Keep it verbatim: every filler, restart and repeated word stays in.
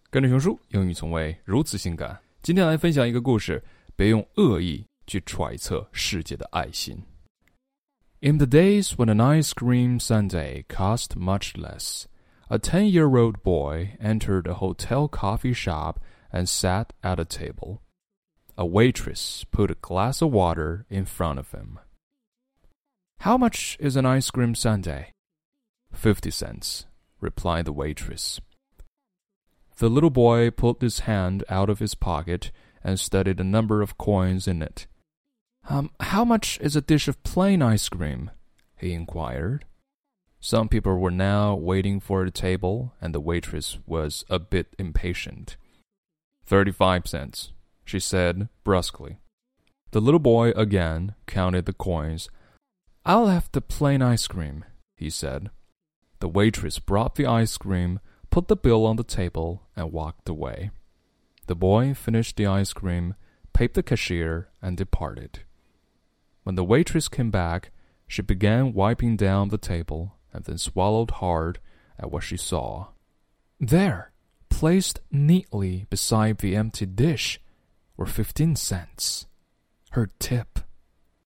跟着熊叔，英语从未如此性感。今天来分享一个故事，别用恶意去揣测世界的爱心。In the days when an ice cream sundae cost much less, a ten-year-old boy entered a hotel coffee shop and sat at a table. A waitress put a glass of water in front of him. How much is an ice cream sundae? Fifty cents, replied the waitress.The little boy pulled his hand out of his pocket and studied the number of coins in it. Um, how much is a dish of plain ice cream? He inquired. Some people were now waiting for the table, and the waitress was a bit impatient. Thirty-five cents, she said brusquely. The little boy again counted the coins. I'll have the plain ice cream, he said. The waitress brought the ice cream,put the bill on the table, and walked away. The boy finished the ice cream, paid the cashier, and departed. When the waitress came back, she began wiping down the table, and then swallowed hard at what she saw. There, placed neatly beside the empty dish, were fifteen cents, her tip.